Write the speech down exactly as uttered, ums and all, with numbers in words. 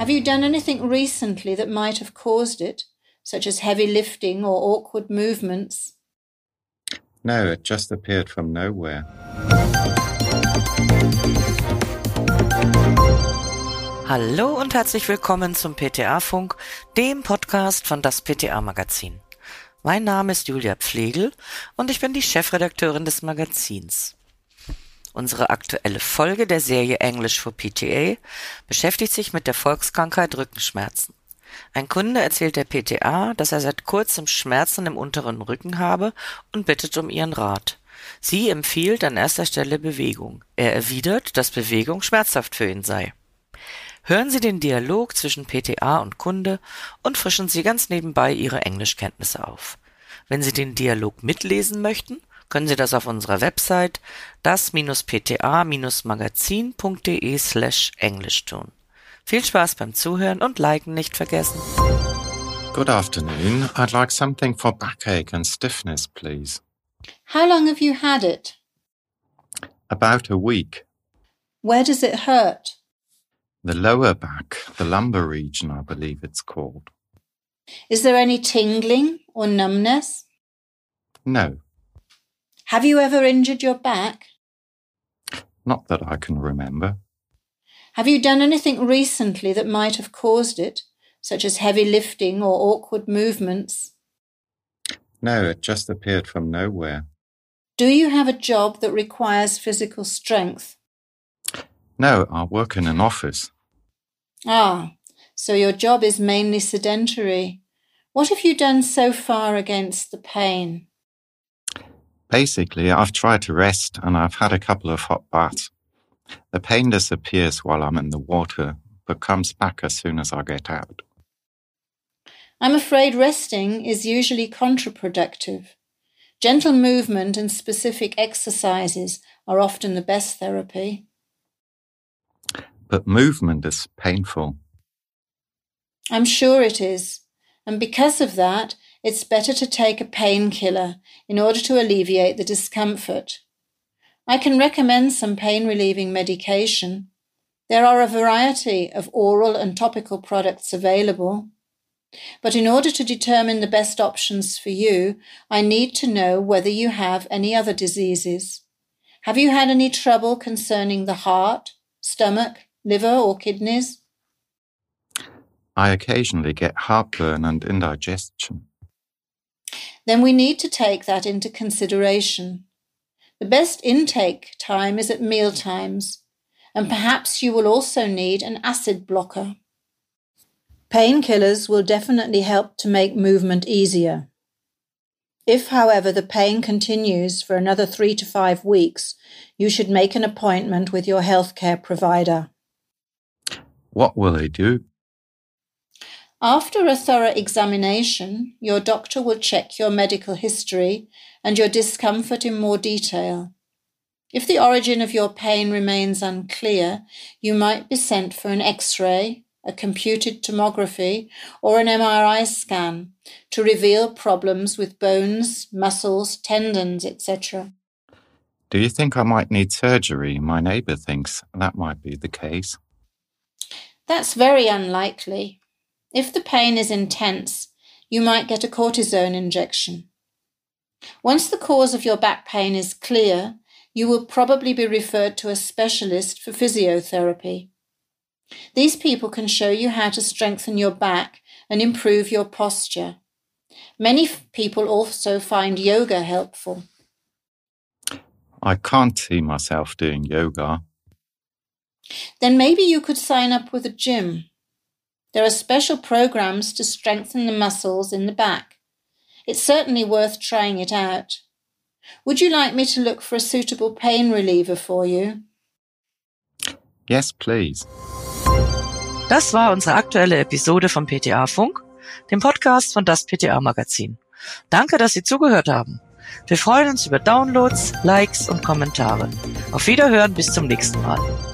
Have you done anything recently that might have caused it, such as heavy lifting or awkward movements? No, it just appeared from nowhere. Hallo und herzlich willkommen zum P T A-Funk, dem Podcast von das P T A-Magazin. Mein Name ist Julia Pflegel und ich bin die Chefredakteurin des Magazins. Unsere aktuelle Folge der Serie English for P T A beschäftigt sich mit der Volkskrankheit Rückenschmerzen. Ein Kunde erzählt der P T A, dass er seit kurzem Schmerzen im unteren Rücken habe und bittet um ihren Rat. Sie empfiehlt an erster Stelle Bewegung. Er erwidert, dass Bewegung schmerzhaft für ihn sei. Hören Sie den Dialog zwischen P T A und Kunde und frischen Sie ganz nebenbei Ihre Englischkenntnisse auf. Wenn Sie den Dialog mitlesen möchten, können Sie das auf unserer Website das P T A Magazin punkt de slash Englisch tun. Viel Spaß beim Zuhören und Liken nicht vergessen. Good afternoon. I'd like something for backache and stiffness, please. How long have you had it? About a week. Where does it hurt? The lower back, the lumbar region, I believe it's called. Is there any tingling or numbness? No, Have you ever injured your back? not that I can remember. Have you done anything recently that might have caused it, such as heavy lifting or awkward movements? No, it just appeared from nowhere. Do you have a job that requires physical strength? No, I work in an office. Ah, so your job is mainly sedentary. What have you done so far against the pain? Basically, I've tried to rest and I've had a couple of hot baths. The pain disappears while I'm in the water, but comes back as soon as I get out. I'm afraid resting is usually counterproductive. Gentle movement and specific exercises are often the best therapy. But movement is painful. I'm sure it is, and because of that, it's better to take a painkiller in order to alleviate the discomfort. I can recommend some pain-relieving medication. There are a variety of oral and topical products available. But in order to determine the best options for you, I need to know whether you have any other diseases. Have you had any trouble concerning the heart, stomach, liver or kidneys? I occasionally get heartburn and indigestion. Then we need to take that into consideration. The best intake time is at meal times, and perhaps you will also need an acid blocker. Painkillers will definitely help to make movement easier. If, however, the pain continues for another three to five weeks, you should make an appointment with your healthcare provider. What will they do? After a thorough examination, your doctor will check your medical history and your discomfort in more detail. If the origin of your pain remains unclear, you might be sent for an X-ray, a computed tomography, or an M R I scan to reveal problems with bones, muscles, tendons, et cetera. Do you think I might need surgery? My neighbour thinks that might be the case. That's very unlikely. If the pain is intense, you might get a cortisone injection. Once the cause of your back pain is clear, you will probably be referred to a specialist for physiotherapy. These people can show you how to strengthen your back and improve your posture. Many f- people also find yoga helpful. I can't see myself doing yoga. Then maybe you could sign up with a gym. There are special programs to strengthen the muscles in the back. It's certainly worth trying it out. Would you like me to look for a suitable pain reliever for you? Yes, please. Das war unsere aktuelle Episode vom P T A-Funk, dem Podcast von das P T A-Magazin. Danke, dass Sie zugehört haben. Wir freuen uns über Downloads, Likes und Kommentare. Auf Wiederhören, bis zum nächsten Mal.